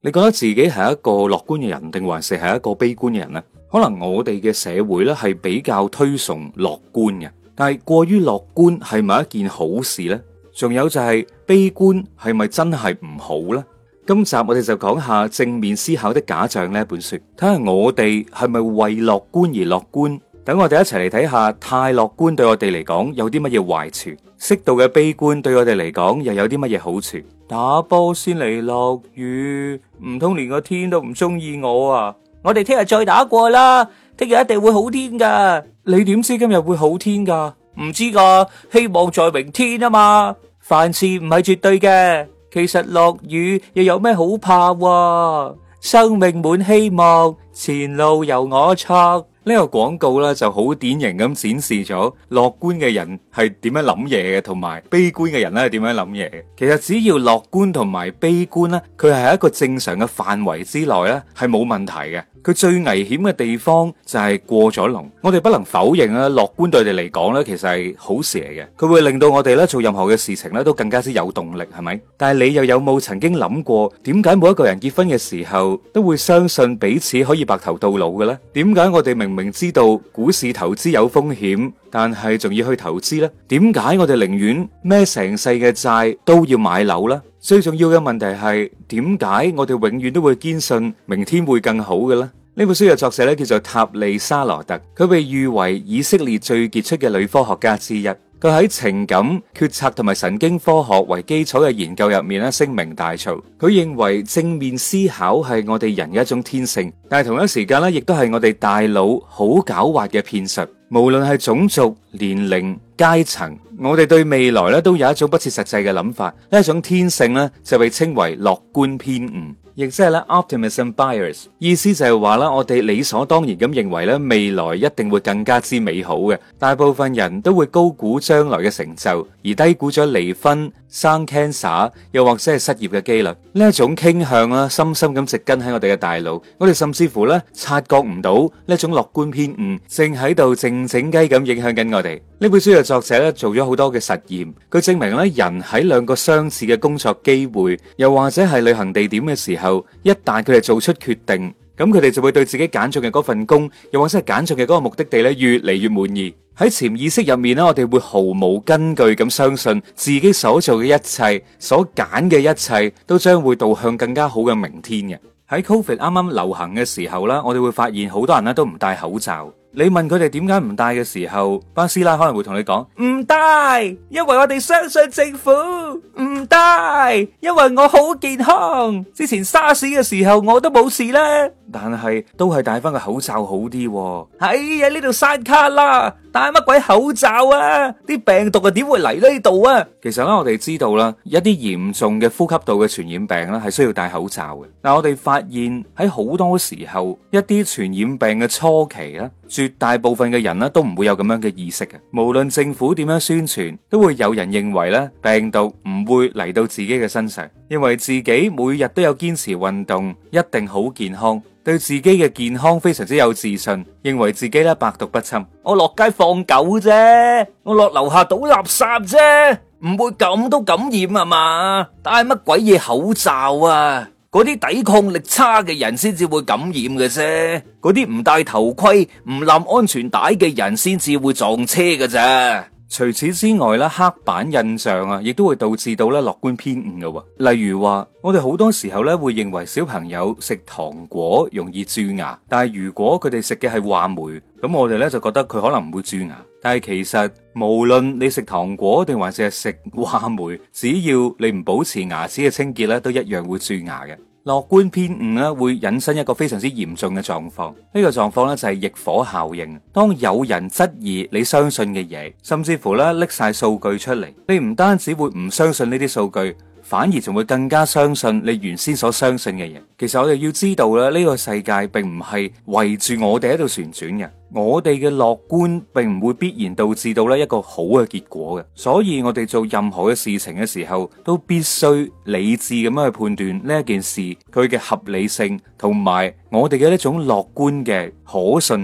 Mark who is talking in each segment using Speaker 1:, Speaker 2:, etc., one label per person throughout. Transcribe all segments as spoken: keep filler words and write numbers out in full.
Speaker 1: 你覺得自己係一個樂觀嘅人，定還是係一個悲觀嘅人呢？可能我哋嘅社會咧係比較推崇樂觀嘅，但係過於樂觀係咪一件好事呢？仲有就係悲觀係咪真係唔好呢？今集我哋就講下正面思考的假象呢本書，睇下我哋係咪為樂觀而樂觀。等我哋一齊嚟睇下，太樂觀對我哋嚟講有啲乜嘢壞處，適度嘅悲觀對我哋嚟講又有啲乜嘢好處。打波先嚟落雨，唔通連個天都唔中意我啊？我哋聽日再打過啦，聽日一定會好天噶。你點知今日會好天噶？唔知噶，希望在明天啊嘛。凡事唔係絕對嘅，其實落雨又有咩好怕啊？生命滿希望，前路由我策。呢個廣告咧就好典型咁展示咗樂觀嘅人係點樣諗嘢嘅，同埋悲觀嘅人咧係點樣諗嘢嘅。其實只要樂觀同埋悲觀咧，佢係喺一個正常嘅範圍之內咧，係冇問題嘅。佢最危險嘅地方就係過咗龍。我哋不能否認啦，樂觀對我哋嚟講咧，其實係好事嚟嘅。佢會令到我哋咧做任何嘅事情咧都更加之有動力，係咪？但係你又有冇曾經諗過，點解每一個人結婚嘅時候都會相信彼此可以白頭到老嘅咧？點解我哋明明知道股市投資有風險，但係仲要去投資呢？點解我哋寧願孭成世嘅債都要買樓呢？最重要嘅問題係，點解我哋永遠都會堅信明天會更好嘅咧？呢本書嘅作者咧叫做塔利沙羅特，佢被譽為以色列最傑出嘅女科學家之一。佢喺情感、決策同埋神經科學為基礎嘅研究入面咧聲名大噪。佢認為正面思考係我哋人嘅一種天性，但係同一時間咧亦都係我哋大腦好狡猾嘅騙術。無論係種族、年齡、階層，我哋對未來咧都有一種不切實際嘅諗法。呢一種天性咧就被稱為樂觀偏誤，亦即係咧 optimism bias。意思就係話啦，我哋理所當然咁認為咧未來一定會更加之美好嘅。大部分人都會高估將來嘅成就，而低估咗離婚、生 cancer 又或者係失業嘅幾率。呢一種傾向啦，深深咁植根喺我哋嘅大腦。我哋甚至乎咧察覺唔到呢一種樂觀偏誤正喺度靜靜雞咁影響緊我哋。呢本書嘅作者咧做咗好多嘅實驗，佢證明咧人喺兩個相似嘅工作機會，又或者係旅行地點嘅時候，一旦佢哋做出決定，咁佢哋就會對自己揀中嘅嗰份工，又或者係揀中嘅嗰個目的地咧越嚟越滿意。喺潛意識入面咧，我哋會毫無根據咁相信自己所做嘅一切，所揀嘅一切都將會導向更加好嘅明天嘅。喺 Covid 啱啱流行嘅時候啦，我哋會發現好多人咧都唔戴口罩。你問佢哋點解唔戴嘅時候，巴師奶可能會同你講唔戴，因為我哋相信政府；唔戴，因為我好健康。之前沙士嘅時候我都冇事啦，但係都係戴翻個口罩好啲喎。哎呀，呢度山卡啦，戴乜鬼口罩啊？啲病毒啊點會嚟呢度啊？其實咧，我哋知道啦，一啲嚴重嘅呼吸道嘅傳染病咧係需要戴口罩嘅。但我哋發現喺好多時候，一啲傳染病嘅初期咧，絕大部分嘅人咧都唔會有咁樣嘅意識嘅。無論政府點樣宣傳，都會有人認為咧病毒唔會嚟到自己嘅身上，認為自己每日都有堅持運動，一定好健康，對自己嘅健康非常之有自信，認為自己咧百毒不侵。我落街放狗啫，我落樓下倒垃圾啫，唔會咁都感染啊嘛？戴乜鬼嘢口罩啊？嗰啲抵抗力差嘅人先至會感染嘅啫，嗰啲唔戴頭盔、唔攬安全帶嘅人先至會撞車嘅咋。除此之外咧，刻板印象啊，亦都會導致到咧樂觀偏誤嘅。例如話，我哋好多時候咧會認為小朋友食糖果容易蛀牙，但係如果佢哋食嘅係話梅，咁我哋咧就覺得佢可能唔會蛀牙。但係其實無論你食糖果定還是係食話梅，只要你唔保持牙齒嘅清潔咧，都一樣會蛀牙嘅。樂觀偏誤咧會引申一個非常之嚴重嘅狀況，呢個狀況咧就係逆火效應。當有人質疑你相信嘅嘢，甚至乎咧拎晒數據出嚟，你唔單止會唔相信呢啲數據，反而仲會更加相信你原先所相信嘅嘢。其實我哋要知道咧，呢個世界並唔係圍住我哋喺度旋轉嘅。我哋嘅樂觀並唔會必然導致到咧一個好嘅結果嘅，所以我哋做任何嘅事情嘅時候，都必須理智咁樣去判斷呢一件事佢嘅合理性，同埋我哋嘅一種樂觀嘅可信性。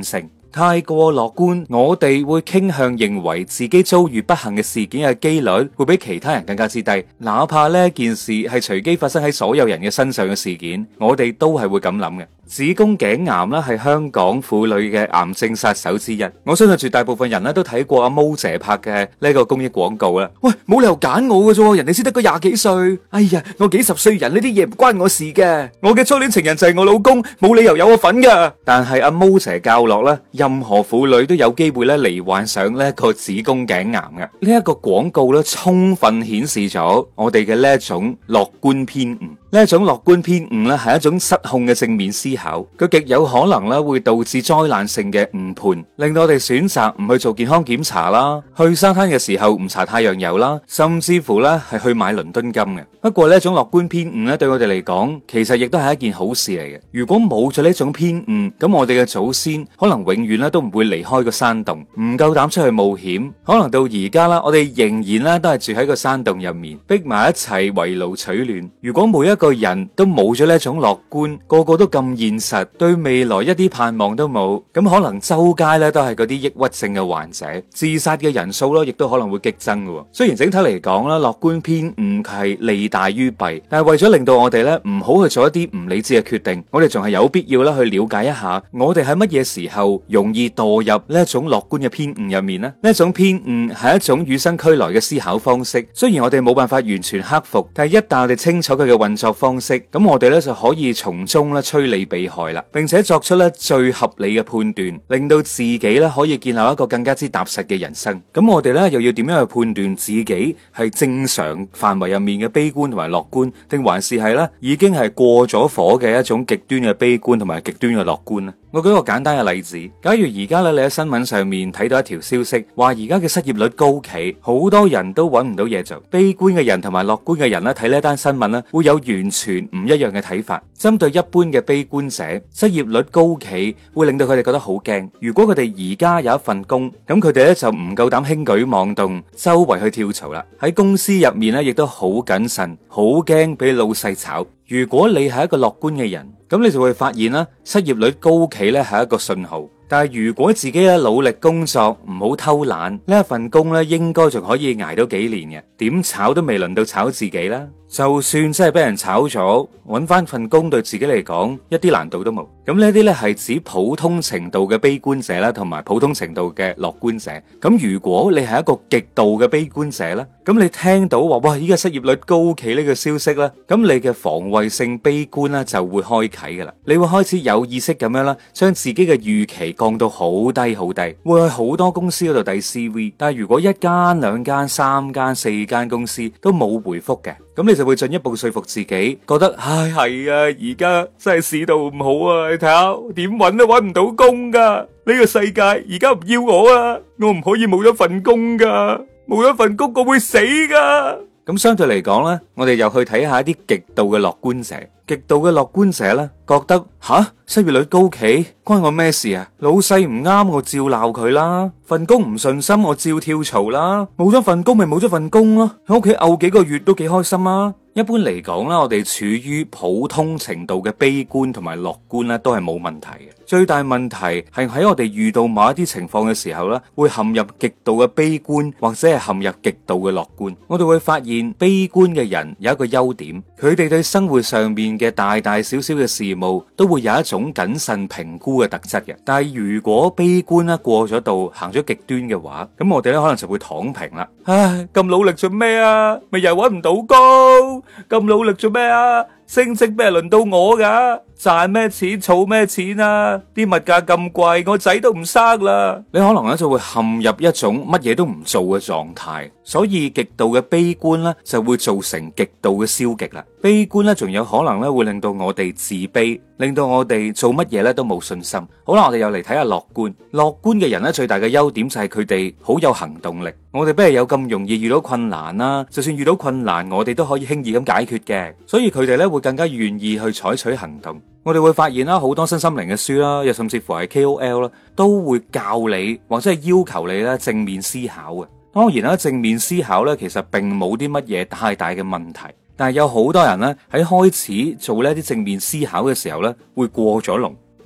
Speaker 1: 太過樂觀，我哋會傾向認為自己遭遇不幸嘅事件嘅幾率會比其他人更加之低，哪怕呢件事係隨機發生喺所有人嘅身上嘅事件，我哋都係會咁諗嘅。子宮頸癌啦係香港婦女嘅癌症殺手之一，我相信絕大部分人咧都睇過阿毛姐拍嘅呢個公益廣告啦。喂，冇理由揀我嘅啫，人哋先得個廿幾歲，哎呀，我幾十歲人呢啲嘢唔關我事嘅，我嘅初戀情人就係我老公，冇理由有我份噶。但係阿毛姐教落咧，任何婦女都有機會咧罹患上呢一個子宮頸癌嘅。呢一個廣告咧，充分顯示咗我哋嘅呢一種樂觀偏誤。呢一種樂觀偏誤咧，係一種失控嘅正面思考，佢極有可能咧會導致災難性嘅誤判，令到我哋選擇唔去做健康檢查啦，去沙灘嘅時候唔搽太陽油啦，甚至乎咧係去買倫敦金嘅。不過呢一種樂觀偏誤咧，對我哋嚟講，其實亦都係一件好事嚟嘅。如果冇咗呢種偏誤，咁我哋嘅祖先可能永遠咧都唔會離開個山洞，唔夠膽出去冒險。可能到而家啦，我哋仍然咧都係住喺個山洞入面，逼埋一齊圍爐取暖。如果每一個人都冇咗呢一種樂觀，個個都咁現實，對未來一啲盼望都冇，咁可能周街咧都係嗰啲抑鬱症嘅患者，自殺嘅人數咯，亦都可能會激增嘅。雖然整體嚟講啦，樂觀偏誤係利大於弊，但係為咗令到我哋咧唔好去做一啲唔理智嘅決定，我哋仲係有必要咧去了解一下，我哋喺乜嘢時候容易墮入呢一種樂觀嘅偏誤入面呢？呢一種偏誤係一種與生俱來嘅思考方式，雖然我哋冇辦法完全克服，但係一旦我哋清楚佢嘅運作方式，咁我哋咧就可以從中咧趨利避害啦，並且作出咧最合理嘅判斷，令到自己咧可以建立一個更加之踏實嘅人生。咁我哋咧又要點樣去判斷自己係正常範圍入面嘅悲觀同埋樂觀，定還是係咧已經係過咗火嘅一種極端嘅悲觀同埋極端嘅樂觀呢？我舉個簡單嘅例子，假如而家咧你喺新聞上面睇到一條消息，話而家嘅失業率高企，好多人都揾唔到嘢做，悲觀嘅人同埋樂觀嘅人咧睇呢一單新聞咧，會有完全唔一樣嘅睇法。針對一般嘅悲觀者，失業率高企會令到佢哋覺得好驚。如果佢哋而家有一份工，咁佢哋咧就唔夠膽輕舉妄動，周圍去跳槽啦。喺公司入面咧，亦都好謹慎，好驚俾老細炒。如果你係一個樂觀嘅人，咁你就會發現啦，失業率高企咧係一個信號。但係如果自己咧努力工作，唔好偷懶，呢一份工咧應該仲可以捱到幾年嘅，點炒都未輪到炒自己啦。就算真係俾人炒咗，揾翻份工對自己嚟講一啲難度都冇。咁呢啲咧係指普通程度嘅悲觀者啦，同埋普通程度嘅樂觀者。咁如果你係一個極度嘅悲觀者咧，咁你聽到話哇依家失業率高企呢個消息咧，咁你嘅防衛性悲觀咧就會開啟噶啦，你會開始有意識咁樣啦，將自己嘅預期降到好低好低，會去好多公司嗰度遞 C V。但係如果一間兩間三間四間公司都冇回覆嘅，咁你就會進一步說服自己，覺得唉係啊，而家真係市道唔好啊，你睇下點搵都搵唔到工噶，呢個世界而家唔要我啊，我唔可以冇咗份工噶，冇咗份工我會死噶。咁相對嚟講咧，我哋又去睇下一啲極度嘅樂觀者。極度嘅樂觀者咧，覺得吓失業率高企關我咩事啊？老細唔啱我照鬧佢啦，份工唔順心我照跳槽啦，冇咗份工咪冇咗份工咯，喺屋企漚幾個月都幾開心啊！一般嚟講啦，我哋處於普通程度嘅悲觀同埋樂觀咧，都係冇問題嘅。最大問題係喺我哋遇到某一啲情況嘅時候咧，會陷入極度嘅悲觀，或者係陷入極度嘅樂觀。我哋會發現悲觀嘅人有一個優點，佢哋對生活上面嘅大大小小嘅事務都會有一種謹慎評估嘅特質嘅。但係如果悲觀咧過咗度，行咗極端嘅話，咁我哋咧可能就會躺平啦。唉，咁努力做咩啊？咪又搵唔到工，咁努力做咩啊？升職咩輪到我噶？賺咩錢儲咩錢啊？啲物價咁貴，我仔都唔生啦。你可能咧就會陷入一種乜嘢都唔做嘅狀態，所以極度嘅悲觀咧就會造成極度嘅消極啦。悲觀咧仲有可能咧會令到我哋自卑，令到我哋做乜嘢咧都冇信心。好啦，我哋又嚟睇下樂觀。樂觀嘅人咧最大嘅優點就係佢哋好有行動力。我哋不係有咁容易遇到困難啦，就算遇到困難，我哋都可以輕易咁解決嘅。所以佢哋咧會更加願意去採取行動。我哋會發現啦，好多身心靈嘅書啦，又甚至乎係 K O L 啦，都會教你或者係要求你咧正面思考嘅。當然啦，正面思考咧其實並冇啲乜嘢太大嘅問題，但係有好多人咧喺開始做呢啲正面思考嘅時候咧會過咗龍。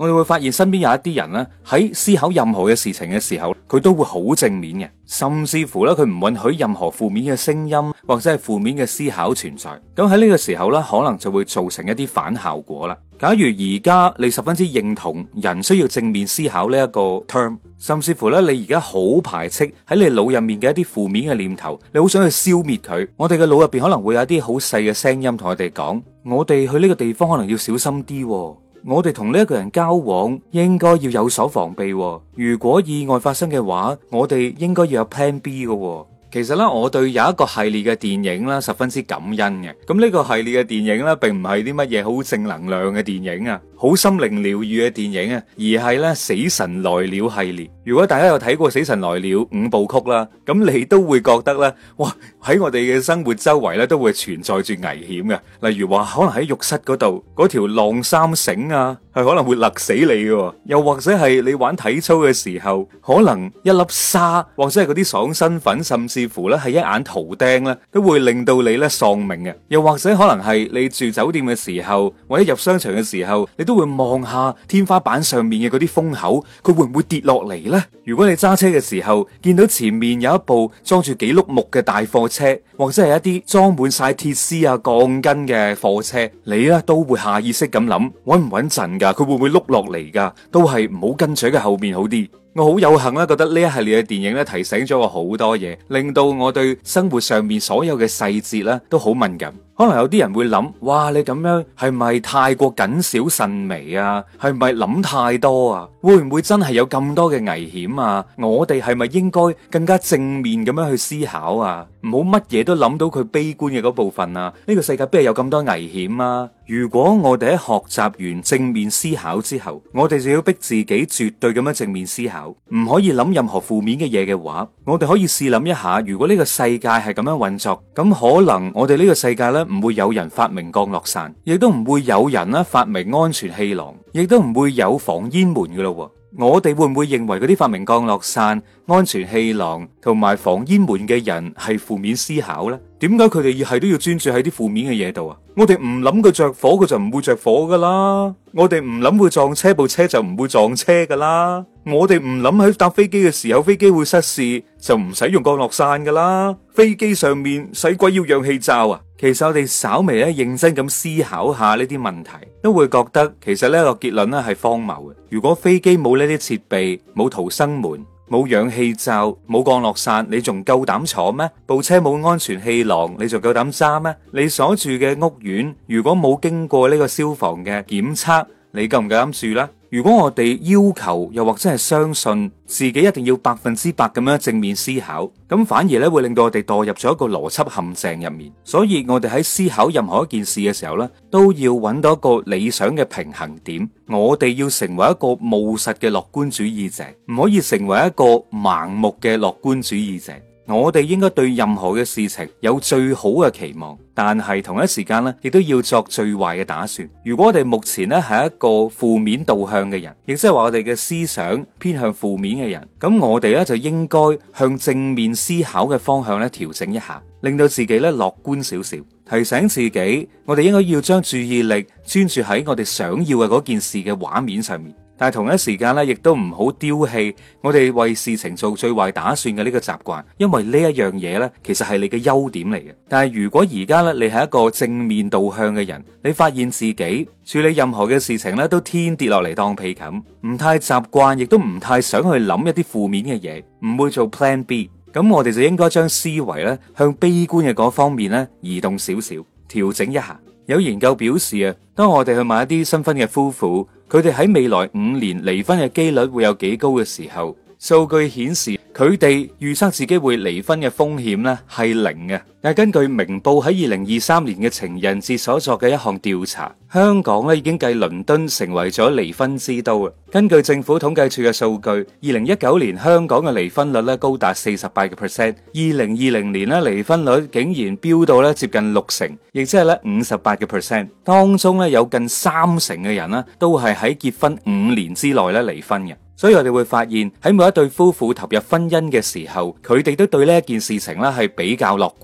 Speaker 1: 我哋會發現身邊有一啲人咧，喺思考任何嘅事情嘅時候，佢都會好正面嘅，甚至乎咧佢唔允許任何負面嘅聲音或者係負面嘅思考存在。咁喺呢個時候咧，可能就會造成一啲反效果啦。假如而家你十分之認同人需要正面思考呢一個 term， 甚至乎咧你而家好排斥喺你腦入面嘅一啲負面嘅念頭，你好想去消滅佢，我哋嘅腦入邊可能會有一啲好細嘅聲音同我哋講，我哋去呢個地方可能要小心啲喎，我哋同呢一個人交往應該要有所防備喎，如果意外發生嘅話，我哋應該要有 plan B 嘅喎。其實咧，我對有一個系列嘅電影咧，十分之感恩嘅。咁呢個系列嘅電影咧，並唔係啲乜嘢好正能量嘅電影啊，好心靈療愈嘅電影啊，而係咧死神來了系列。如果大家有睇過死神來了五部曲啦，咁你都會覺得咧，哇，喺我哋嘅生活周圍咧都會存在住危險嘅。例如話，可能喺浴室嗰度嗰條晾衫繩啊，係可能會勒死你嘅。又或者係你玩體操嘅時候，可能一粒沙或者係嗰啲爽身粉，甚至乎咧係一眼圖釘咧，都會令到你咧喪命嘅。又或者可能係你住酒店嘅時候，或者入商場嘅時候，你都會望下天花板上面嘅嗰啲風口，佢會唔會跌落嚟呢？如果你揸車嘅時候見到前面有一部裝住幾碌木嘅大貨車，或者係一啲裝滿晒鐵絲啊鋼筋嘅貨車，你咧都會下意識咁諗，穩唔穩陣噶？佢會唔會碌落嚟噶？都係唔好跟住喺後面好啲。我好有幸啦，覺得呢一系列嘅電影咧提醒咗我好多嘢，令到我對生活上面所有嘅細節咧都好敏感。可能有啲人會諗，哇，你咁樣係咪太過謹小慎微啊？係咪諗太多啊？會唔會真係有咁多嘅危險啊？我哋係咪應該更加正面咁樣去思考啊？唔好乜嘢都諗到佢悲觀嘅嗰部分啊？呢個世界邊係有咁多危險啊？如果我哋喺學習完正面思考之後，我哋就要逼自己絕對咁樣正面思考，唔可以諗任何負面嘅嘢嘅話，我哋可以試諗一下，如果呢個世界係咁樣運作，咁可能我哋呢個世界呢，唔會有人發明降落傘，亦都唔會有人咧發明安全氣囊，亦都唔會有防煙門㗎咯。我哋會唔會認為嗰啲發明降落傘、安全氣囊同埋防煙門嘅人係負面思考呢？點解佢哋要係都要專注喺啲負面嘅嘢度啊？我哋唔諗佢着火，佢就唔會着火噶啦。我哋唔諗會撞車，部車就唔會撞車噶啦。我哋唔諗喺搭飛機嘅時候，飛機會失事，就唔使用降落傘噶啦。飛機上面使鬼要氧氣罩啊？其實我哋稍微咧認真咁思考下呢啲問題，都會覺得其實呢個結論咧係荒謬嘅。如果飛機冇呢啲設備，冇逃生門，冇氧氣罩，冇降落傘，你仲夠膽坐咩？部車冇安全氣囊，你仲夠膽揸咩？你所住嘅屋苑如果冇經過呢個消防嘅檢測，你夠唔夠膽住呢？如果我哋要求又或者係相信自己一定要百分之百咁樣正面思考，咁反而咧會令到我哋墮入咗一個邏輯陷阱入面。所以我哋喺思考任何一件事嘅時候咧，都要揾到一個理想嘅平衡點。我哋要成為一個務實嘅樂觀主義者，唔可以成為一個盲目嘅樂觀主義者。我哋應該對任何嘅事情有最好嘅期望，但係同一時間咧，亦都要作最壞嘅打算。如果我哋目前咧係一個負面導向嘅人，亦即係話我哋嘅思想偏向負面嘅人，咁我哋咧就應該向正面思考嘅方向咧調整一下，令到自己咧樂觀少少，提醒自己，我哋應該要將注意力專注喺我哋想要嘅嗰件事嘅畫面上面。但係同一時間咧，亦都唔好丟棄我哋為事情做最壞打算嘅呢個習慣，因為呢一樣嘢咧，其實係你嘅優點嚟嘅。但係如果而家咧，你係一個正面導向嘅人，你發現自己處理任何嘅事情咧，都天跌落嚟當被冚，唔太習慣，亦都唔太想去諗一啲負面嘅嘢，唔會做 plan B， 咁我哋就應該將思維咧向悲觀嘅嗰方面咧移動少少，調整一下。有研究表示啊，當我哋去問一啲新婚嘅夫婦，佢哋喺未來五年離婚嘅幾率會有幾高嘅時候，數據顯示佢哋預測自己會離婚嘅風險咧係零嘅。但係根據明報喺二零二三年嘅情人節所作嘅一項調查，香港咧已經繼倫敦成為咗離婚之都啊！根據政府統計處嘅數據，二零一九年香港嘅離婚率咧高達四十八個 percent， 二零二零年咧離婚率竟然飆到咧接近六成，亦即係咧五十八個 percent。當中咧有近三成嘅人咧都係喺結婚五年之內咧離婚嘅。所以我哋會發現喺每一對夫婦投入婚姻嘅時候，佢哋都對呢一件事情咧係比較樂觀嘅。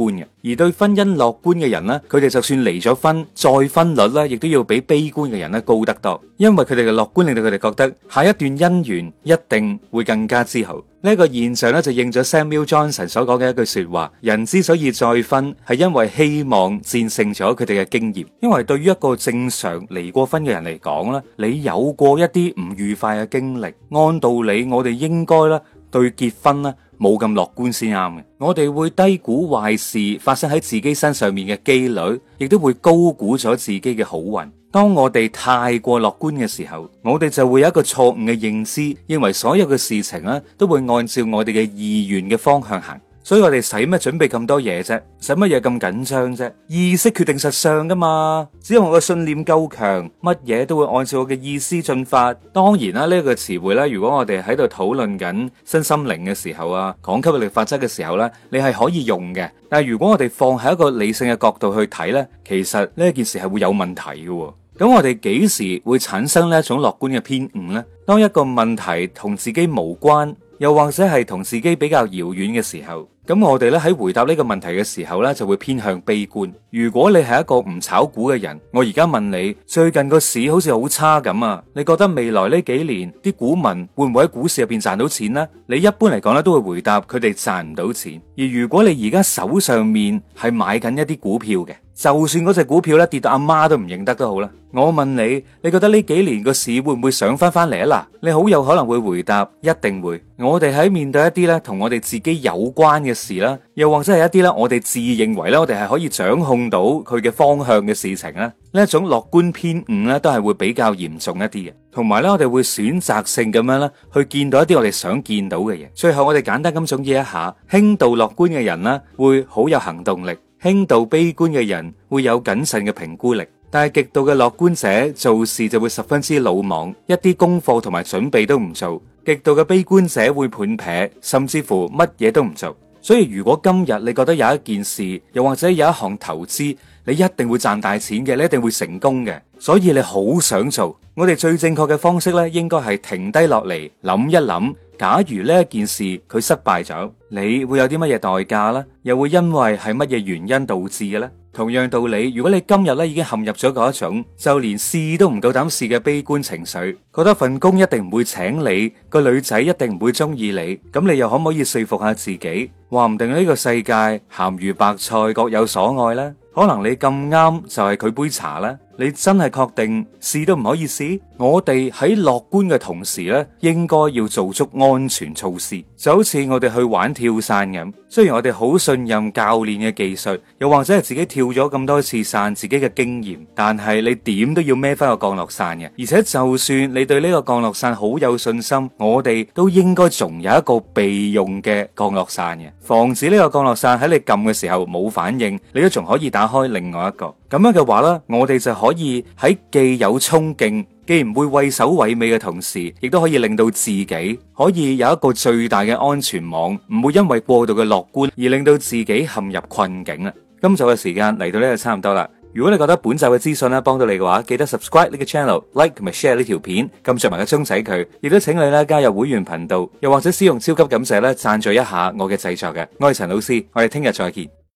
Speaker 1: 而對婚姻樂觀嘅人呢，佢哋就算離咗婚，再婚率呢，亦都要比悲觀嘅人呢高得多，因為佢哋嘅樂觀令到佢哋覺得下一段姻緣一定會更加之好。呢個現象咧就應咗 Samuel Johnson 所講嘅一句說話：人之所以再婚，係因為希望戰勝咗佢哋嘅經驗。因為對於一個正常離過婚嘅人嚟講咧，你有過一啲唔愉快嘅經歷，按道理我哋應該咧對結婚咧冇咁樂觀先啱嘅。我哋會低估壞事發生喺自己身上面嘅機率，亦都會高估咗自己嘅好運。當我哋太過樂觀嘅時候，我哋就會有一個錯誤嘅認知，認為所有嘅事情咧都會按照我哋嘅意願嘅方向行。所以我哋使乜準備咁多嘢啫？使乜嘢咁緊張啫？意識決定實相噶嘛，只要我嘅信念夠強，乜嘢都會按照我嘅意思進發。當然啦，呢個詞彙咧，如果我哋喺度討論緊身心靈嘅時候啊，講吸引力法則嘅時候咧，你係可以用嘅。但係如果我哋放喺一個理性嘅角度去睇咧，其實呢件事係會有問題嘅。咁我哋幾時會產生呢一種樂觀嘅偏誤呢？當一個問題同自己無關，又或者係同自己比較遙遠嘅時候，咁我哋咧喺回答呢個問題嘅時候咧，就會偏向悲觀。如果你係一個唔炒股嘅人，我而家問你，最近個市好似好差咁啊，你覺得未來呢幾年啲股民會唔會喺股市入邊賺到錢呢？你一般嚟講咧都會回答佢哋賺唔到錢。而如果你而家手上面係買緊一啲股票嘅，就算嗰隻股票咧跌到阿媽都唔認得都好啦，我問你，你覺得呢幾年個市會唔會上翻翻嚟啊？嗱，你好有可能會回答一定會。我哋喺面對一啲咧同我哋自己有關嘅事啦，又或者係一啲咧我哋自認為咧我哋係可以掌控到佢嘅方向嘅事情咧，呢一種樂觀偏誤咧都係會比較嚴重一啲嘅。同埋咧，我哋會選擇性咁樣咧去見到一啲我哋想見到嘅嘢。最後我哋簡單咁總結一下，輕度樂觀嘅人咧會好有行動力，輕度悲觀嘅人會有謹慎嘅評估力，但係極度嘅樂觀者做事就會十分之魯莽，一啲功課同埋準備都唔做。極度嘅悲觀者會判劈，甚至乎乜嘢都唔做。所以如果今日你覺得有一件事，又或者有一項投資，你一定會賺大錢嘅，你一定會成功嘅，所以你好想做。我哋最正確嘅方式咧，應該係停低落嚟諗一諗，假如呢一件事佢失敗咗，你會有啲乜嘢代價呢？又會因為係乜嘢原因導致嘅咧？同樣道理，如果你今日咧已經陷入咗嗰一種就連試都唔夠膽試嘅悲觀情緒，覺得份工一定唔會請你，個女仔一定唔會中意你，咁你又可唔可以說服下自己，話唔定呢個世界鹹魚白菜各有所愛呢？可能你咁啱就係佢杯茶呢？你真係確定試都唔可以試？我哋喺樂觀嘅同時咧，應該要做足安全措施，就好似我哋去玩跳傘咁。雖然我哋好信任教練嘅技術，又或者係自己跳咗咁多次傘，自己嘅經驗，但係你點都要孭翻個降落傘嘅。而且就算你對呢個降落傘好有信心，我哋都應該仲有一個備用嘅降落傘嘅，防止呢個降落傘喺你撳嘅時候冇反應，你都仲可以打開另外一個。咁樣嘅話咧，我哋就可以喺既有衝勁，既唔會畏首畏尾嘅同時，亦都可以令到自己可以有一個最大嘅安全網，唔會因為過度嘅樂觀而令到自己陷入困境啦。今集嘅時間嚟到呢度差唔多啦。如果你覺得本集嘅資訊咧幫到你嘅話，記得 subscribe 呢個 channel、like 同埋 share 呢條片，撳着埋個鐘仔佢，亦都請你咧加入會員頻道，又或者使用超級感謝咧贊助一下我嘅製作嘅。我係陳老師，我哋聽日再見。